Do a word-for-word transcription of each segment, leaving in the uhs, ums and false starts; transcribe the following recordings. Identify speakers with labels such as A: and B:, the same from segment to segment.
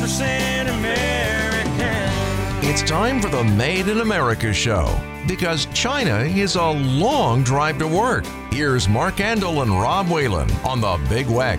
A: percent American.
B: It's time for the Made in America show, because China is a long drive to work. Here's Mark Andel and Rob Whalen on the Big Weck.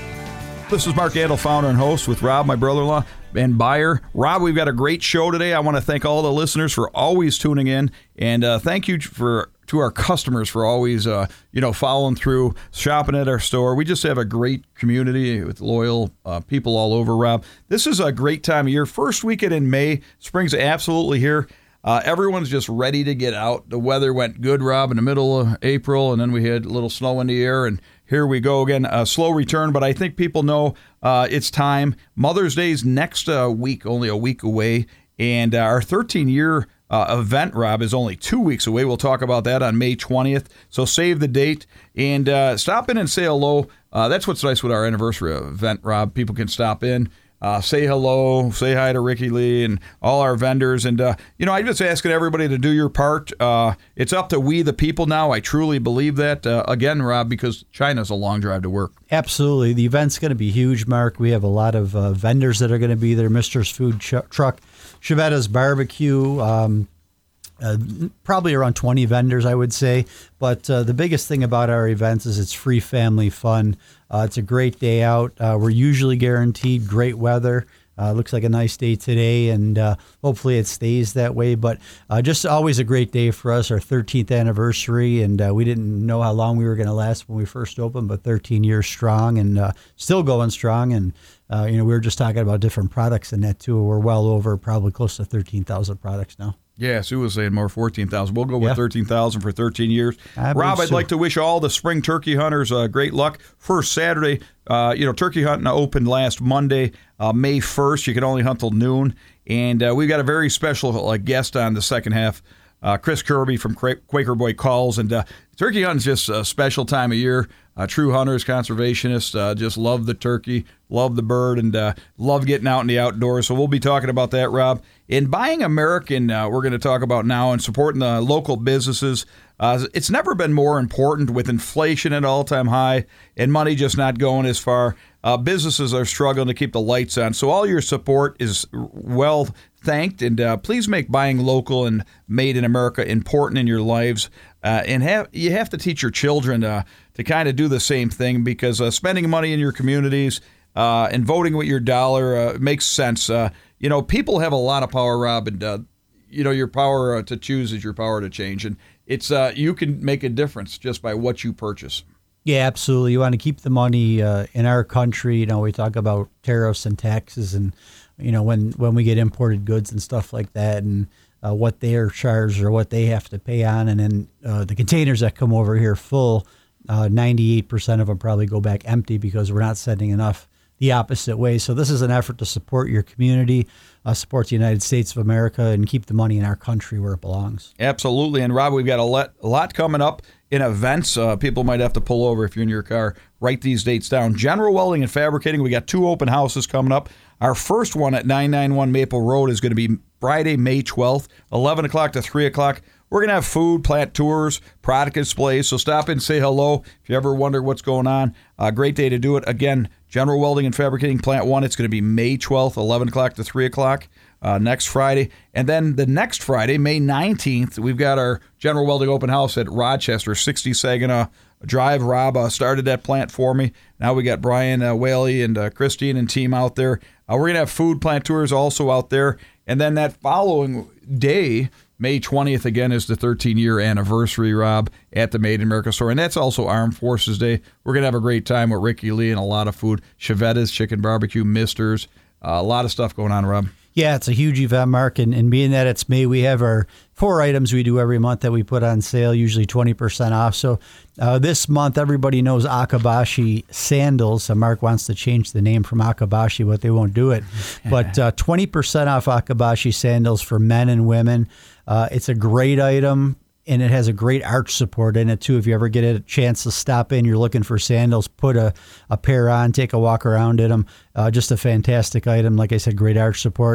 C: This is Mark Andel, founder and host, with Rob, my brother-in-law, and buyer. Rob, we've got a great show today. I want to thank all the listeners for always tuning in, and uh, thank you for to our customers for always, uh, you know, following through, shopping at our store. We just have a great community with loyal uh, people all over, Rob. This is a great time of year. First weekend in May. Spring's absolutely here. Uh, everyone's just ready to get out. The weather went good, Rob, in the middle of April, and then we had a little snow in the air, and here we go again. A slow return, but I think people know uh, it's time. Mother's Day's next uh, week, only a week away, and uh, our thirteen-year uh, event, Rob, is only two weeks away. We'll talk about that on May twentieth, so save the date, and uh, stop in and say hello. Uh, that's what's nice with our anniversary event, Rob. People can stop in. Uh, say hello, say hi to Ricky Lee and all our vendors. And, uh, you know, I'm just asking everybody to do your part. Uh, it's up to we, the people, now. I truly believe that. Uh, again, Rob, because China's a long drive to work.
D: Absolutely. The event's going to be huge, Mark. We have a lot of uh, vendors that are going to be there. Mister's Food Ch- Truck, Chevetta's Barbecue, um, Uh, probably around twenty vendors, I would say. But uh, the biggest thing about our events is it's free family fun. Uh, it's a great day out. Uh, we're usually guaranteed great weather. Uh, looks like a nice day today, and uh, hopefully it stays that way. But uh, just always a great day for us, our thirteenth anniversary, and uh, we didn't know how long we were going to last when we first opened, but thirteen years strong and uh, still going strong. And uh, you know, we were just talking about different products in that too. We're well over probably close to thirteen thousand products now.
C: Yeah, Sue was saying more fourteen thousand. We'll go with
D: yeah. thirteen
C: thousand for thirteen years.
D: I
C: Rob, I'd
D: so.
C: like to wish all the spring turkey hunters uh, great luck. First Saturday, uh, you know, turkey hunting opened last Monday, uh, May first. You can only hunt till noon. And uh, we've got a very special uh, guest on the second half, uh, Chris Kirby from Quaker Boy Calls. And uh, turkey hunting is just a special time of year. Uh, true hunters, conservationists, uh, just love the turkey, love the bird, and uh, love getting out in the outdoors. So we'll be talking about that, Rob. In buying American, uh, we're going to talk about now, and supporting the local businesses. Uh, it's never been more important with inflation at all-time high and money just not going as far. Uh, businesses are struggling to keep the lights on. So all your support is well thanked, and uh, please make buying local and made in America important in your lives. Uh, and have you have to teach your children uh, to kind of do the same thing, because uh, spending money in your communities uh, and voting with your dollar uh, makes sense. Uh, you know, people have a lot of power, Rob, and uh, you know, your power uh, to choose is your power to change, and it's uh, you can make a difference just by what you purchase.
D: Yeah, absolutely. You want to keep the money uh, in our country. You know, we talk about tariffs and taxes, and you know, when when we get imported goods and stuff like that, and Uh, what they're charged or what they have to pay on. And then uh, the containers that come over here full, uh, ninety-eight percent of them probably go back empty because we're not sending enough the opposite way. So this is an effort to support your community, uh, support the United States of America, and keep the money in our country where it belongs.
C: Absolutely. And Rob, we've got a lot, a lot coming up in events. Uh, people might have to pull over if you're in your car. Write these dates down. General Welding and Fabricating, we got two open houses coming up. Our first one at nine ninety-one Maple Road is going to be Friday, May twelfth, eleven o'clock to three o'clock. We're going to have food, plant tours, product displays, so stop in and say hello if you ever wonder what's going on. Uh, great day to do it. Again, General Welding and Fabricating, Plant one, it's going to be May twelfth, eleven o'clock to three o'clock uh, next Friday. And then the next Friday, May nineteenth, we've got our General Welding Open House at Rochester, sixty Saginaw Drive. Rob uh, started that plant for me. Now we got Brian uh, Whaley and uh, Christine and team out there. Uh, we're going to have food, plant tours also out there. And then that following day, May twentieth, again, is the thirteen-year anniversary, Rob, at the Made in America store. And that's also Armed Forces Day. We're going to have a great time with Ricky Lee and a lot of food. Chevetta's, Chicken Barbecue, Mister's, uh, a lot of stuff going on, Rob.
D: Yeah, it's a huge event, Mark. And, and being that it's May, we have our four items we do every month that we put on sale, usually twenty percent off. So uh, this month, everybody knows Akabashi sandals. So Mark wants to change the name from Akabashi, but they won't do it. But uh, twenty percent off Akabashi sandals for men and women. Uh, it's a great item, and it has a great arch support in it, too. If you ever get a chance to stop in, you're looking for sandals, put a, a pair on, take a walk around in them. Uh, just a fantastic item. Like I said, great arch support.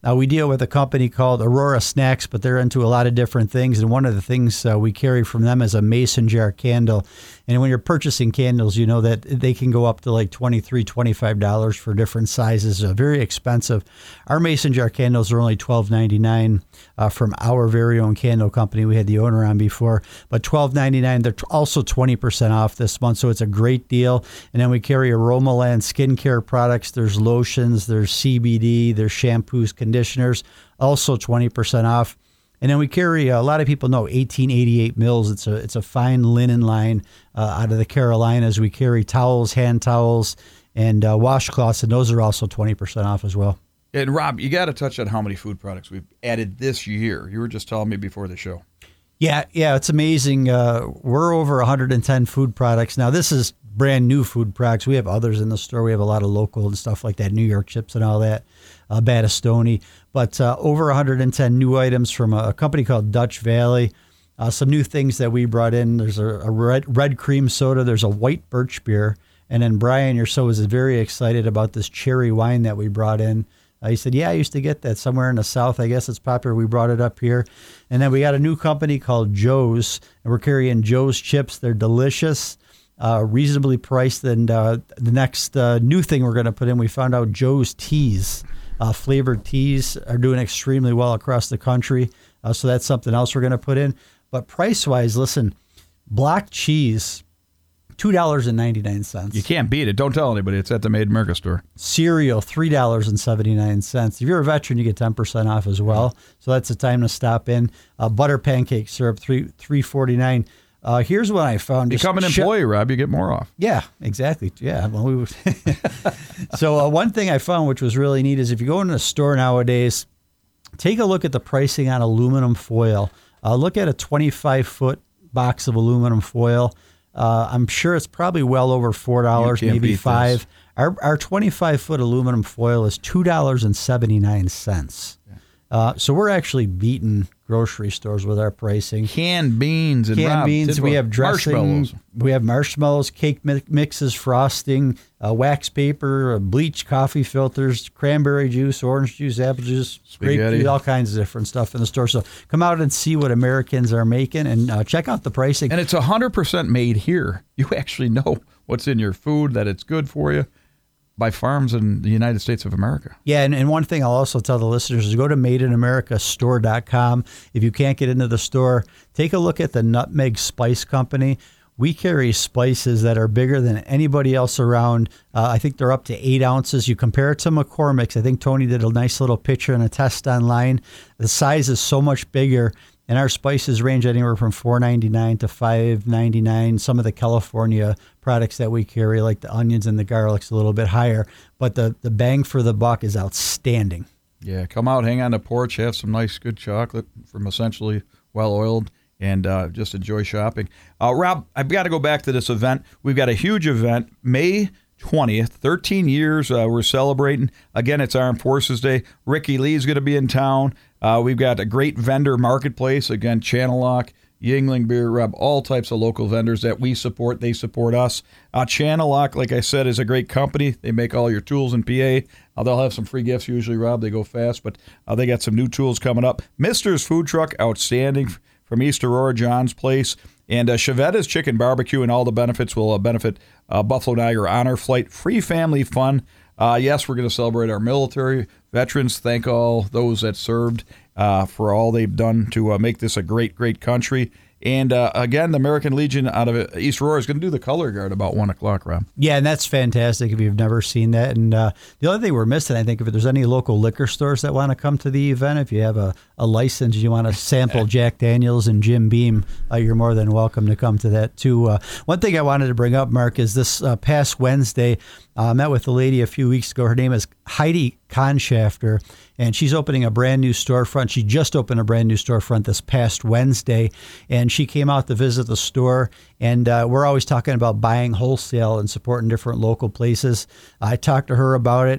D: Uh, we deal with a company called Aurora Snacks, but they're into a lot of different things. And one of the things uh, we carry from them is a mason jar candle. And when you're purchasing candles, you know that they can go up to like twenty-three dollars, twenty-five dollars for different sizes. Uh, very expensive. Our mason jar candles are only twelve ninety-nine uh, from our very own candle company. We had the owner on before, but twelve ninety-nine. They're also twenty percent off this month, so it's a great deal. And then we carry Aromaland skincare products. There's lotions, there's C B D, there's shampoos, conditioners, also twenty percent off. And then we carry, a lot of people know, eighteen eighty-eight Mills. It's a it's a fine linen line uh, out of the Carolinas. We carry towels, hand towels, and uh, washcloths, and those are also twenty percent off as well.
C: And Rob, you got to touch on how many food products we've added this year. You were just telling me before the show.
D: Yeah, yeah, it's amazing. Uh, we're over one hundred ten food products. Now, this is brand new food products. We have others in the store. We have a lot of local and stuff like that, New York chips and all that, uh, Battistoni. But uh, over one hundred ten new items from a, a company called Dutch Valley. Uh, some new things that we brought in. There's a, a red, red cream soda. There's a white birch beer. And then Brian, your so is very excited about this cherry wine that we brought in. Uh, he said, yeah, I used to get that somewhere in the South. I guess it's popular. We brought it up here. And then we got a new company called Joe's, and we're carrying Joe's chips. They're delicious, uh, reasonably priced. And uh, the next uh, new thing we're going to put in, we found out Joe's teas, uh, flavored teas, are doing extremely well across the country. Uh, so that's something else we're going to put in. But price-wise, listen, block cheese, two dollars and ninety-nine cents.
C: You can't beat it. Don't tell anybody. It's at the Made in America store.
D: Cereal, three dollars and seventy-nine cents. If you're a veteran, you get ten percent off as well. So that's the time to stop in. Uh, butter pancake syrup, three three forty-nine. Uh, here's what I found.
C: Become an employee, Rob. You get more off.
D: Yeah, exactly. Yeah. Well, we so uh, one thing I found, which was really neat, is if you go into a store nowadays, take a look at the pricing on aluminum foil. Uh, look at a twenty-five foot box of aluminum foil. Uh, I'm sure it's probably well over four dollars, maybe five. This. Our our twenty-five foot aluminum foil is two dollars and seventy-nine cents. Yeah. Uh, so we're actually beating grocery stores with our pricing.
C: Canned beans and
D: canned
C: Rob,
D: beans. We have dressing. Marshmallows. We have marshmallows, cake mixes, frosting, uh, wax paper, uh, bleach coffee filters, cranberry juice, orange juice, apple juice, grape juice, all kinds of different stuff in the store. So come out and see what Americans are making and uh, check out the pricing.
C: And it's one hundred percent made here. You actually know what's in your food, that it's good for you, by farms in the United States of America.
D: Yeah, and, and one thing I'll also tell the listeners is go to made in america store dot com. If you can't get into the store, take a look at the Nutmeg Spice Company. We carry spices that are bigger than anybody else around. Uh, I think they're up to eight ounces. You compare it to McCormick's. I think Tony did a nice little picture and a test online. The size is so much bigger. And our spices range anywhere from four ninety-nine to five ninety-nine. Some of the California products that we carry, like the onions and the garlic's a little bit higher. But the, the bang for the buck is outstanding.
C: Yeah, come out, hang on the porch, have some nice, good chocolate from Essentially Well-Oiled, and uh, just enjoy shopping. Uh, Rob, I've got to go back to this event. We've got a huge event, May twentieth, thirteen years uh, we're celebrating. Again, it's Armed Forces Day. Ricky Lee's going to be in town. Uh, we've got a great vendor marketplace. Again, Channel Lock, Yuengling Beer Rub, all types of local vendors that we support. They support us. Uh, Channel Lock, like I said, is a great company. They make all your tools in P A. Uh, they'll have some free gifts usually, Rob. They go fast, but uh, they got some new tools coming up. Mister's Food Truck, outstanding, from East Aurora, John's Place. And uh, Chevetta's Chicken Barbecue, and all the benefits will uh, benefit uh, Buffalo Niagara Honor Flight. Free family fun. Uh, yes, we're going to celebrate our military veterans. Thank all those that served uh, for all they've done to uh, make this a great, great country. And uh, again, the American Legion out of East Aurora is going to do the color guard about one o'clock, Rob.
D: Yeah, and that's fantastic if you've never seen that. And uh, the other thing we're missing, I think, if there's any local liquor stores that want to come to the event, if you have a, a license, you want to sample Jack Daniels and Jim Beam, uh, you're more than welcome to come to that, too. Uh, one thing I wanted to bring up, Mark, is this uh, past Wednesday, uh, I met with a lady a few weeks ago. Her name is Heidi Conshafter, and she's opening a brand new storefront. She just opened a brand new storefront this past Wednesday, and she came out to visit the store. And uh, we're always talking about buying wholesale and supporting different local places. I talked to her about it.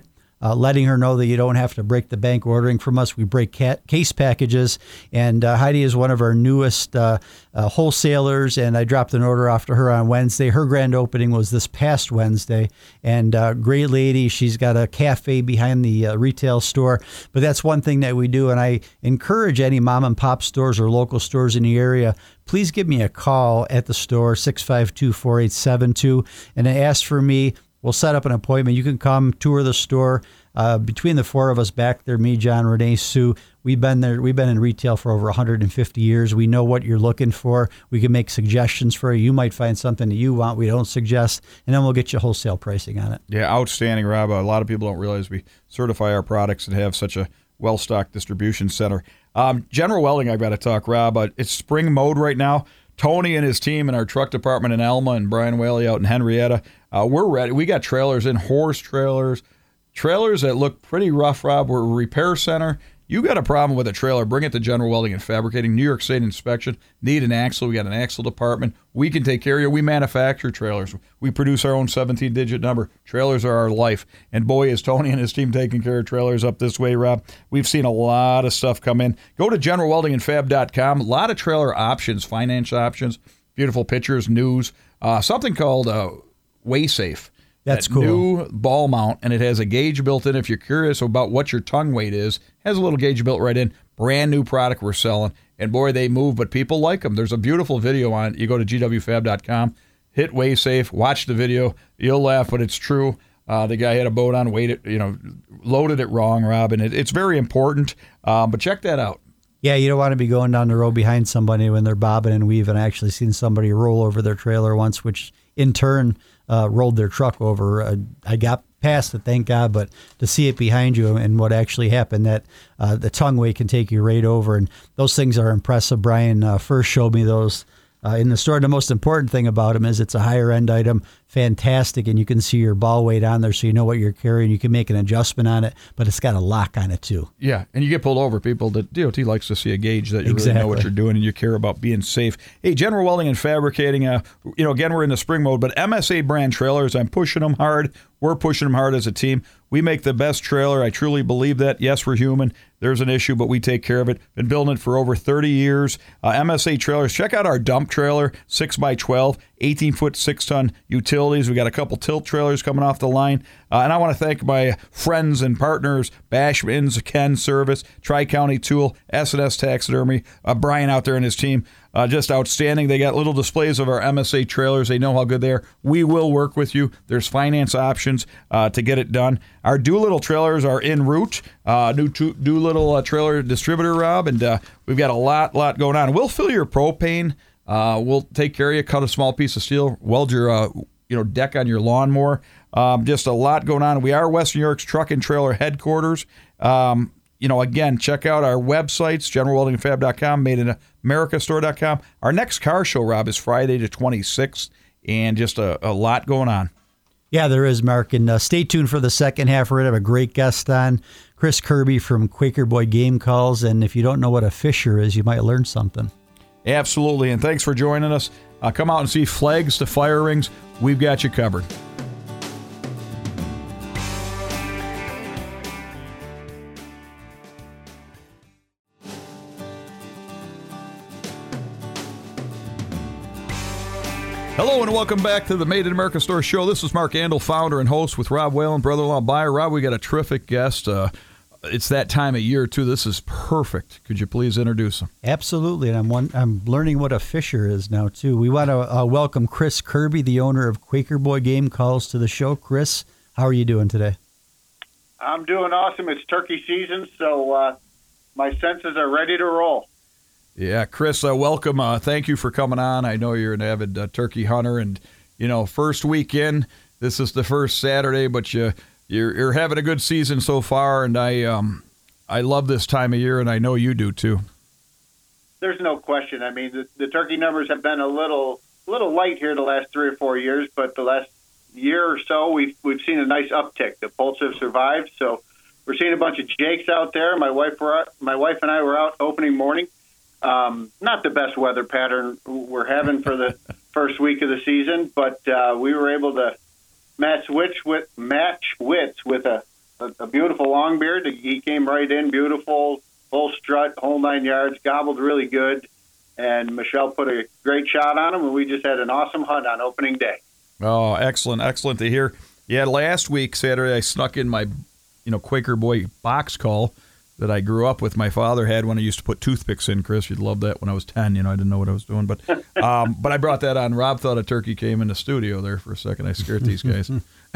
D: uh, letting her know that you don't have to break the bank ordering from us. We break ca- case packages, and uh, Heidi is one of our newest uh, uh, wholesalers, and I dropped an order off to her on Wednesday. Her grand opening was this past Wednesday, and uh, great lady. She's got a cafe behind the uh, retail store, but that's one thing that we do, and I encourage any mom and pop stores or local stores in the area, please give me a call at the store, six five two, four eight seven two, and ask for me. We'll set up an appointment. You can come tour the store. Uh, between the four of us back there, me, John, Renee, Sue, we've been there. We've been in retail for over one hundred fifty years. We know what you're looking for. We can make suggestions for you. You might find something that you want we don't suggest, and then we'll get you wholesale pricing on it.
C: Yeah, outstanding, Rob. A lot of people don't realize we certify our products and have such a well-stocked distribution center. Um, General Welding, I've got to talk, Rob. Uh, it's spring mode right now. Tony and his team in our truck department in Alma and Brian Whaley out in Henrietta, uh, we're ready. We got trailers in, horse trailers, trailers that look pretty rough, Rob. We're a repair center. You got a problem with a trailer, bring it to General Welding and Fabricating, New York State inspection. Need an axle, we got an axle department. We can take care of you. We manufacture trailers. We produce our own seventeen-digit number. Trailers are our life. And boy, is Tony and his team taking care of trailers up this way, Rob. We've seen a lot of stuff come in. Go to general welding and fab dot com. A lot of trailer options, finance options, beautiful pictures, news. Uh, something called uh, WaySafe.
D: That's
C: that
D: cool.
C: New ball mount, and it has a gauge built in. If you're curious about what your tongue weight is, has a little gauge built right in. Brand new product we're selling. And boy, they move, but people like them. There's a beautiful video on it. You go to g w fab dot com, hit WaySafe, watch the video. You'll laugh, but it's true. Uh, the guy had a boat on, weighted, you know, loaded it wrong, Rob, and it, it's very important. Um, but check that out.
D: Yeah, you don't want to be going down the road behind somebody when they're bobbing and weaving. I actually seen somebody roll over their trailer once, which in turn uh, rolled their truck over. Uh, I got past it, thank God, but to see it behind you and what actually happened, that uh, the tongue weight can take you right over. And those things are impressive. Brian uh, first showed me those uh, in the store. The most important thing about them is it's a higher end item, fantastic, and you can see your ball weight on there so you know what you're carrying. You can make an adjustment on it, but it's got a lock on it too.
C: Yeah, and you get pulled over. People, the D O T likes to see a gauge that you
D: Exactly.
C: really know what you're doing and you care about being safe. Hey, General Welding and Fabricating, uh, you know, again, we're in the spring mode, but M S A brand trailers, I'm pushing them hard. We're pushing them hard as a team. We make the best trailer. I truly believe that. Yes, we're human. There's an issue, but we take care of it. Been building it for over thirty years. Uh, M S A trailers. Check out our dump trailer, six by twelve, eighteen foot, six ton utilities. We got a couple tilt trailers coming off the line. Uh, and I want to thank my friends and partners, Bashman's, Ken Service, Tri-County Tool, S and S Taxidermy, uh, Brian out there and his team. Uh, just outstanding. They got little displays of our M S A trailers. They know how good they are. We will work with you. There's finance options uh, to get it done. Our Doolittle trailers are en route. Uh, new to, Doolittle uh, trailer distributor, Rob, and uh, we've got a lot, lot going on. We'll fill your propane. Uh, we'll take care of you. Cut a small piece of steel. Weld your, uh, you know, deck on your lawnmower. Um, just a lot going on. We are Western New York's truck and trailer headquarters. Um, You know, again, check out our websites, general welding and fab dot com, made in america store dot com. Our next car show, Rob, is Friday the twenty-sixth, and just a, a lot going on.
D: Yeah, there is, Mark. And uh, stay tuned for the second half. We're going to have a great guest on, Chris Kirby from Quaker Boy Game Calls. And if you don't know what a fisher is, you might learn something.
C: Absolutely, and thanks for joining us. Uh, come out and see Flags to Fire Rings. We've got you covered. Hello and welcome back to the Made in America Store Show. This is Mark Andel, founder and host with Rob Whalen, brother-in-law buyer. Rob, we got a terrific guest. Uh, it's that time of year, too. This is perfect. Could you please introduce him?
D: Absolutely, and I'm one, I'm learning what a fisher is now, too. We want to uh, welcome Chris Kirby, the owner of Quaker Boy Game Calls, to the show. Chris, how are you doing today?
E: I'm doing awesome. It's turkey season, so uh, my senses are ready to roll.
C: Yeah, Chris, uh, welcome. Uh, thank you for coming on. I know you're an avid uh, turkey hunter, and you know, first weekend. This is the first Saturday, but you you're, you're having a good season so far, and I um I love this time of year, and I know you do too.
E: There's no question. I mean, the, the turkey numbers have been a little little light here the last three or four years, but the last year or so, we've we've seen a nice uptick. The poults have survived, so we're seeing a bunch of jakes out there. My wife were out, my wife and I were out opening morning. Um, not the best weather pattern we're having for the first week of the season, but uh, we were able to match wits with match wits with a a, a beautiful long beard. He came right in, beautiful, full strut, whole nine yards, gobbled really good. And Michelle put a great shot on him, and we just had an awesome hunt on opening day.
C: Oh, excellent, excellent to hear. Yeah, last week, Saturday, I snuck in my, you know, Quaker Boy box call that I grew up with. My father had one I used to put toothpicks in, Chris. You'd love that when I was ten. You know, I didn't know what I was doing. But um, but I brought that on. Rob thought a turkey came in the studio there for a second. I scared these guys.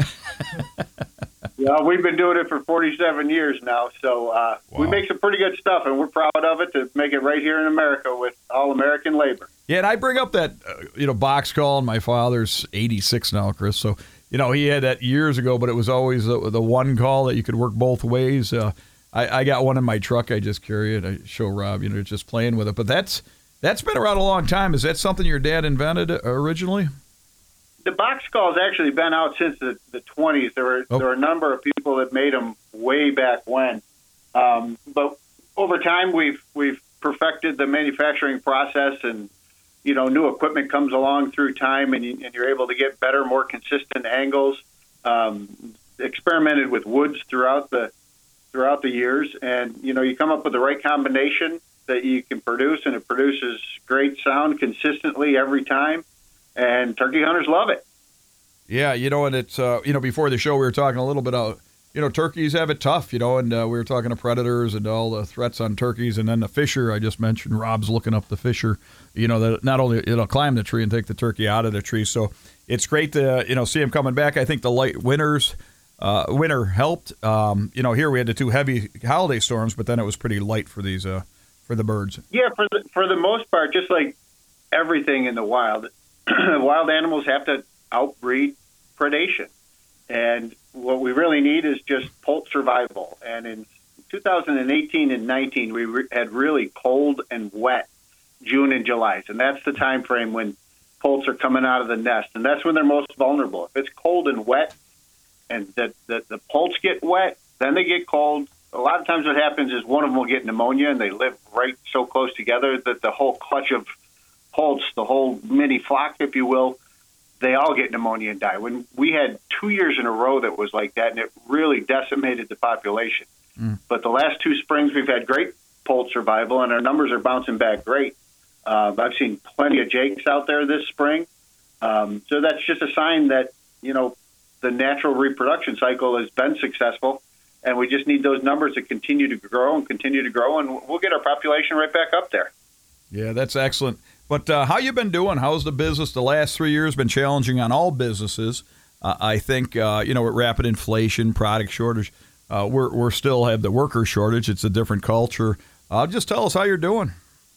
E: Yeah, we've been doing it for forty-seven years now, so uh,
C: Wow.
E: we make some pretty good stuff, and we're proud of it to make it right here in America with all-American labor.
C: Yeah, and I bring up that, uh, you know, box call, and my father's eighty-six now, Chris. So, you know, he had that years ago, but it was always the, the one call that you could work both ways. Uh, I, I got one in my truck. I just carry it. I show Rob, you know, just playing with it. But that's that's been around a long time. Is that something your dad invented originally?
E: The box call has actually been out since the, the twenties. There were
C: Oh.
E: there were a number of people that made them way back when. Um, but over time, we've we've perfected the manufacturing process, and you know, new equipment comes along through time, and, you, and you're able to get better, more consistent angles. Um, experimented with woods throughout the throughout the years, and you know, you come up with the right combination that you can produce, and it produces great sound consistently every time. And turkey hunters love it.
C: Yeah, you know, and it's, uh, you know, before the show we were talking a little bit about, you know, turkeys have it tough, you know, and uh, we were talking to predators and all the threats on turkeys. And then the fisher, I just mentioned, Rob's looking up the fisher, you know, that not only it'll climb the tree and take the turkey out of the tree. So it's great to, you know, see him coming back. I think the light winters, uh, winter helped. Um, you know, here we had the two heavy holiday storms, but then it was pretty light for these, uh, for the birds.
E: Yeah, for the, for the most part, just like everything in the wild, wild animals have to outbreed predation. And what we really need is just poult survival. And in two thousand eighteen and nineteen, we re- had really cold and wet June and July. And that's the time frame when poults are coming out of the nest. And that's when they're most vulnerable. If it's cold and wet and the, the, the poults get wet, then they get cold. A lot of times what happens is one of them will get pneumonia, and they live right so close together that the whole clutch of poults, the whole mini flock, if you will, they all get pneumonia and die. When we had two years in a row that was like that, and it really decimated the population. Mm. But the last two springs, we've had great poult survival, and our numbers are bouncing back great. Uh, I've seen plenty of jakes out there this spring. Um, so that's just a sign that, you know, the natural reproduction cycle has been successful, and we just need those numbers to continue to grow and continue to grow, and we'll get our population right back up there.
C: Yeah, that's excellent. But uh, how you been doing? How's the business? The last three years been challenging on all businesses. Uh, I think, uh, you know, with rapid inflation, product shortage, uh, we're we're still have the worker shortage. It's a different culture. Uh, just tell us how you're doing.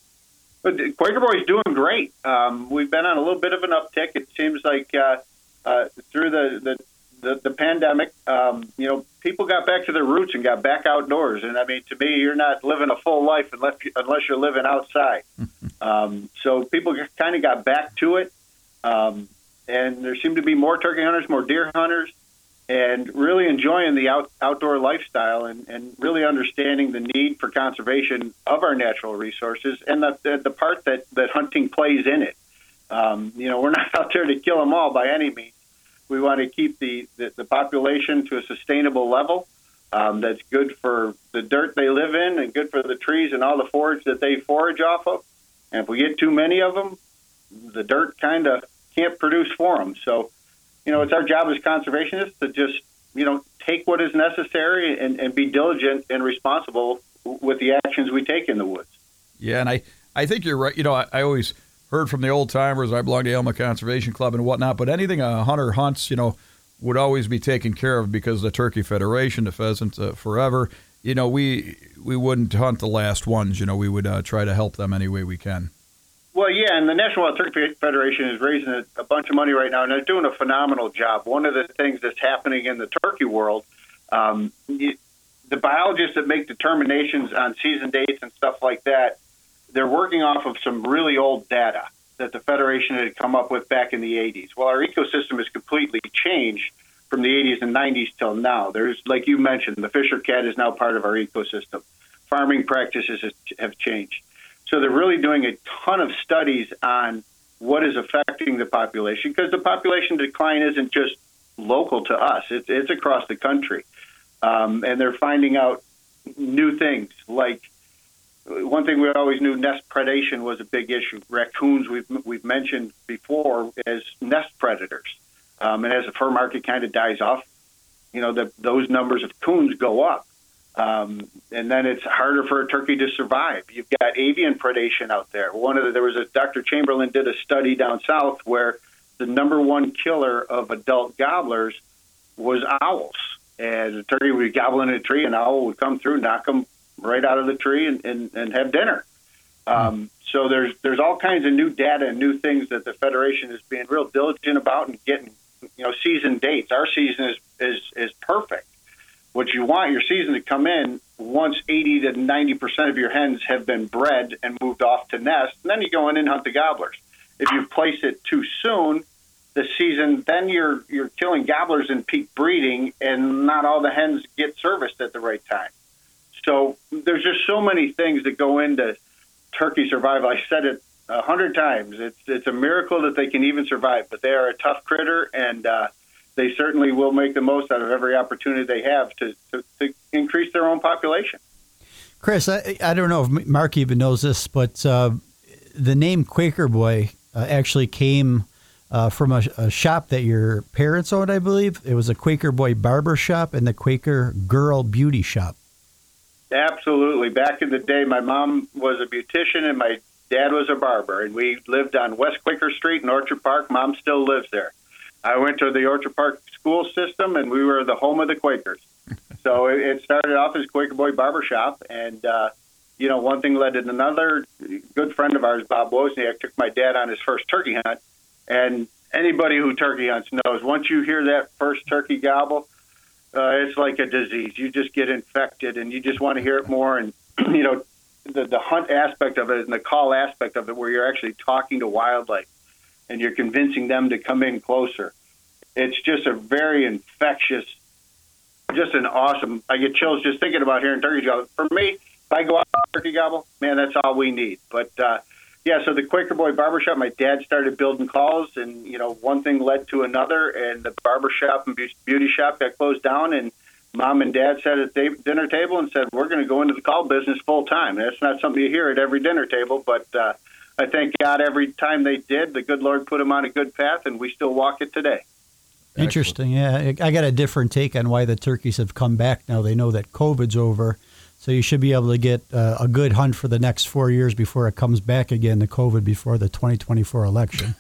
E: But Quaker Boy's doing great. Um, we've been on a little bit of an uptick. It seems like uh, uh, through the, the, the, the pandemic, um, you know, people got back to their roots and got back outdoors. And, I mean, to me, you're not living a full life unless, unless you're living outside. um, so people kind of got back to it. Um, and there seem to be more turkey hunters, more deer hunters, and really enjoying the out, outdoor lifestyle and, and really understanding the need for conservation of our natural resources and the, the, the part that, that hunting plays in it. Um, you know, we're not out there to kill them all by any means. We want to keep the, the, the population to a sustainable level um, that's good for the dirt they live in and good for the trees and all the forage that they forage off of. And if we get too many of them, the dirt kind of can't produce for them. So, you know, it's our job as conservationists to just, you know, take what is necessary and, and be diligent and responsible with the actions we take in the woods.
C: Yeah, and I, I think you're right. You know, I, I always heard from the old timers. I belong to Elma Conservation Club and whatnot, but anything a hunter hunts, you know, would always be taken care of because the Turkey Federation, the Pheasant uh, Forever, you know, we we wouldn't hunt the last ones. You know, we would uh, try to help them any way we can.
E: Well, yeah, and the National Wild Turkey Federation is raising a, a bunch of money right now, and they're doing a phenomenal job. One of the things that's happening in the turkey world, um, you, the biologists that make determinations on season dates and stuff like that, they're working off of some really old data that the Federation had come up with back in the eighties. Well, our ecosystem has completely changed from the eighties and nineties till now. There's, like you mentioned, the fisher cat is now part of our ecosystem. Farming practices have changed. So they're really doing a ton of studies on what is affecting the population, because the population decline isn't just local to us. It's, it's across the country. Um, and they're finding out new things. Like one thing we always knew, nest predation was a big issue. Raccoons we've we've mentioned before as nest predators. Um, and as the fur market kind of dies off, you know, the, those numbers of coons go up. Um, and then it's harder for a turkey to survive. You've got avian predation out there. One of the, there was a Doctor Chamberlain did a study down south where the number one killer of adult gobblers was owls. And the turkey would gobble in a tree, and an owl would come through, knock them right out of the tree, and, and, and have dinner. Um, so there's there's all kinds of new data and new things that the Federation is being real diligent about and getting, you know, season dates. Our season is is is perfect. What you want your season to come in once eighty to ninety percent of your hens have been bred and moved off to nest, and then you go in and hunt the gobblers. If you place it too soon, the season, then you're you're killing gobblers in peak breeding, and not all the hens get serviced at the right time. So there's just so many things that go into turkey survival. I said it a hundred times. It's it's a miracle that they can even survive, but they are a tough critter, and uh, they certainly will make the most out of every opportunity they have to, to, to increase their own population.
D: Chris, I, I don't know if Mark even knows this, but uh, the name Quaker Boy uh, actually came uh, from a, a shop that your parents owned, I believe. It was a Quaker Boy barber shop and the Quaker Girl beauty shop.
E: Absolutely. Back in the day, my mom was a beautician and my dad was a barber, and we lived on West Quaker Street in Orchard Park. Mom still lives there. I went to the Orchard Park school system, and we were the home of the Quakers. So it, it started off as Quaker Boy Barbershop, and, uh, you know, one thing led to another. Good friend of ours, Bob Wozniak, took my dad on his first turkey hunt, and anybody who turkey hunts knows once you hear that first turkey gobble, uh, it's like a disease. You just get infected, and you just want to hear it more, and, you know, the, the hunt aspect of it and the call aspect of it where you're actually talking to wildlife and you're convincing them to come in closer. It's just a very infectious, just an awesome, I get chills just thinking about hearing turkey gobble. For me, if I go out and turkey gobble, man, that's all we need. But, uh, yeah, so the Quaker Boy Barbershop, my dad started building calls, and, you know, one thing led to another, and the barbershop and beauty shop got closed down, and Mom and Dad sat at the dinner table and said, we're going to go into the call business full time. That's not something you hear at every dinner table, but uh, I thank God every time they did, the good Lord put them on a good path, and we still walk it today.
D: Interesting. Yeah, I got a different take on why the turkeys have come back now. They know that COVID's over, so you should be able to get uh, a good hunt for the next four years before it comes back again, the COVID, before the twenty twenty-four election.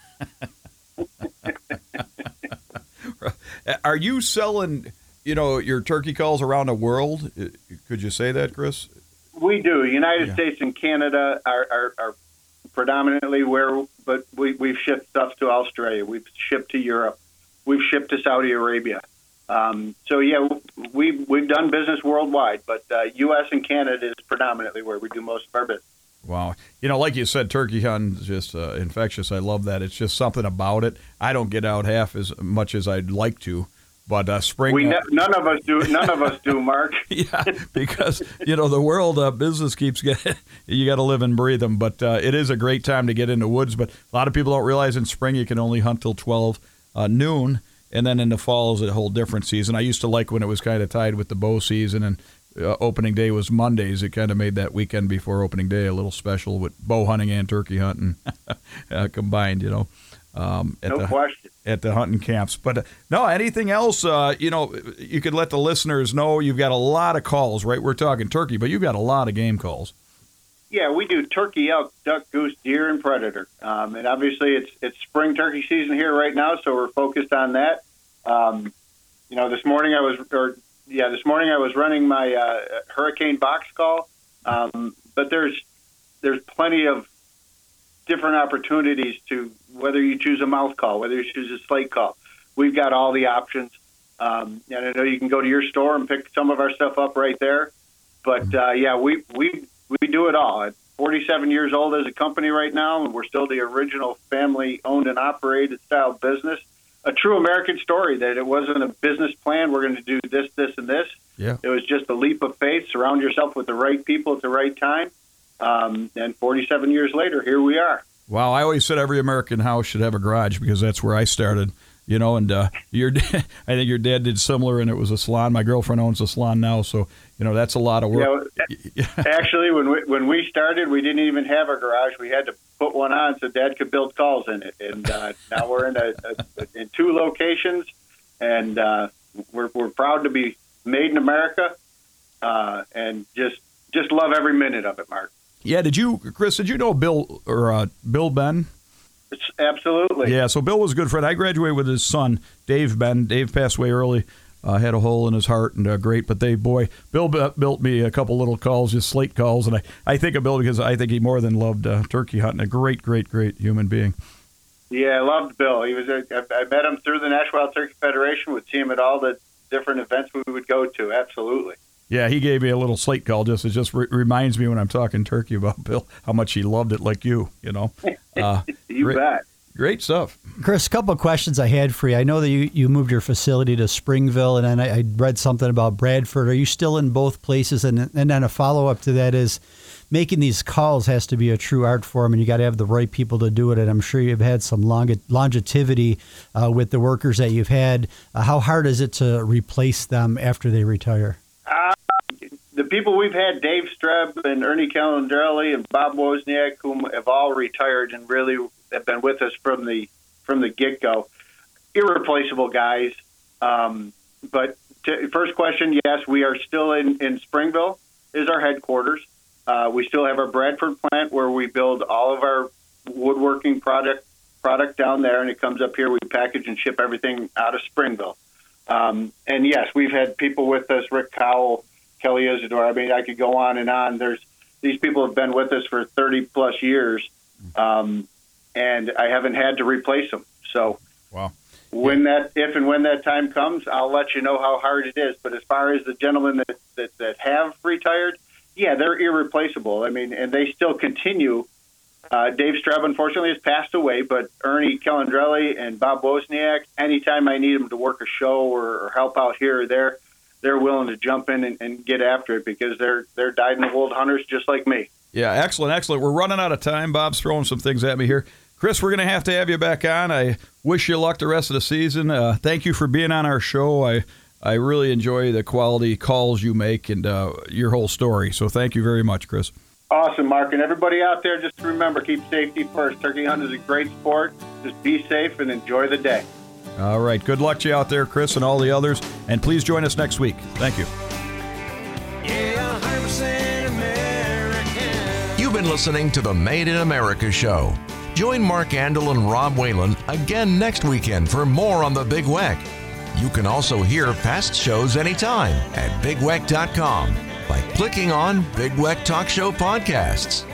C: Are you selling, you know, your turkey calls around the world? Could you say that, Chris?
E: We do. United
C: Yeah.
E: States and Canada are, are, are predominantly where, but we, we've shipped stuff to Australia. We've shipped to Europe. We've shipped to Saudi Arabia. Um, so, yeah, we, we've done business worldwide, but uh, U S and Canada is predominantly where we do most of our business.
C: Wow. You know, like you said, turkey hunting is just uh, infectious. I love that. It's just something about it. I don't get out half as much as I'd like to. But uh, spring,
E: we
C: uh,
E: ne- none of us do. None of us do, Mark.
C: yeah, because you know the world uh, business keeps getting. You got to live and breathe them. But uh, it is a great time to get into woods. But a lot of people don't realize in spring you can only hunt till twelve uh, noon, and then in the fall is a whole different season. I used to like when it was kind of tied with the bow season, and uh, opening day was Mondays. It kind of made that weekend before opening day a little special with bow hunting and turkey hunting uh, combined. You know. Um, at
E: no
C: the,
E: question.
C: At the hunting camps. But uh, no, anything else, uh, you know, you could let the listeners know you've got a lot of calls, right? We're talking turkey, but you've got a lot of game calls.
E: Yeah, we do turkey, elk, duck, goose, deer, and predator. Um, and obviously it's it's spring turkey season here right now, so we're focused on that. Um, you know, this morning I was, or yeah, this morning I was running my uh, hurricane box call, um, but there's there's plenty of different opportunities to whether you choose a mouth call, whether you choose a slate call. We've got all the options. Um, and I know you can go to your store and pick some of our stuff up right there. But, uh, yeah, we, we we do it all. At forty-seven years old as a company right now, and we're still the original family-owned and operated style business. A true American story that it wasn't a business plan. We're going to do this, this, and this.
C: Yeah.
E: It was just a leap of faith. Surround yourself with the right people at the right time. Um, and forty-seven years later, here we are.
C: Wow, I always said every American house should have a garage because that's where I started. you know, and uh, your I think your dad did similar, and it was a salon. My girlfriend owns a salon now, so you know that's a lot of work.
E: Yeah, actually, when we when we started, we didn't even have a garage. We had to put one on so Dad could build calls in it, and uh, now we're in a, a in two locations, and uh, we're we're proud to be made in America, uh, and just just love every minute of it, Mark.
C: Yeah, did you, Chris? Did you know Bill or uh, Bill Ben?
E: It's absolutely.
C: Yeah, so Bill was a good friend. I graduated with his son, Dave Ben. Dave passed away early. Uh, had a hole in his heart, and uh, great. But they, boy, Bill b- built me a couple little calls, just slate calls, and I, I think of Bill because I think he more than loved uh, turkey hunting. A great, great, great human being.
E: Yeah, I loved Bill. He was. A, I, I met him through the National Wild Turkey Federation. Would see him at all the different events we would go to. Absolutely.
C: Yeah, he gave me a little slate call. Just it just re- reminds me when I'm talking turkey about Bill how much he loved it, like you. You know. Uh,
E: you
C: great,
E: bet.
C: Great stuff.
D: Chris, a couple of questions I had for you. I know that you, you moved your facility to Springville, and then I, I read something about Bradford. Are you still in both places? And, and then a follow-up to that is making these calls has to be a true art form, and you got to have the right people to do it. And I'm sure you've had some long, longevity uh, with the workers that you've had. Uh, how hard is it to replace them after they retire?
E: Uh, the people we've had, Dave Streb and Ernie Calandrelli and Bob Wozniak, whom have all retired and really have been with us from the from the get-go. Irreplaceable guys. Um, but to, first question, yes, we are still in, in Springville is our headquarters. Uh, we still have our Bradford plant where we build all of our woodworking product product down there, and it comes up here. We package and ship everything out of Springville. Um, and, yes, we've had people with us, Rick Cowell, Kelly Isidore. I mean, I could go on and on. There's these people have been with us for thirty-plus years. Um And I haven't had to replace them. So
C: wow.
E: when that, if and when that time comes, I'll let you know how hard it is. But as far as the gentlemen that, that, that have retired, yeah, they're irreplaceable. I mean, and they still continue. Uh, Dave Streb, unfortunately, has passed away, but Ernie Calandrelli and Bob Wozniak, anytime I need them to work a show or, or help out here or there, they're willing to jump in and, and get after it because they're they're dyed-in-the-wool hunters just like me. Yeah,
C: excellent, excellent. We're running out of time. Bob's throwing some things at me here. Chris, we're going to have to have you back on. I wish you luck the rest of the season. Uh, thank you for being on our show. I I really enjoy the quality calls you make and uh, your whole story. So thank you very much, Chris.
E: Awesome, Mark. And everybody out there, just remember, keep safety first. Turkey hunting is a great sport. Just be safe and enjoy the day.
C: All right. Good luck to you out there, Chris, and all the others. And please join us next week. Thank you.
A: Yeah, one hundred percent American.
B: You've been listening to the Made in America show. Join Mark Andel and Rob Whalen again next weekend for more on the Big Weck. You can also hear past shows anytime at big weck dot com by clicking on Big Weck Talk Show Podcasts.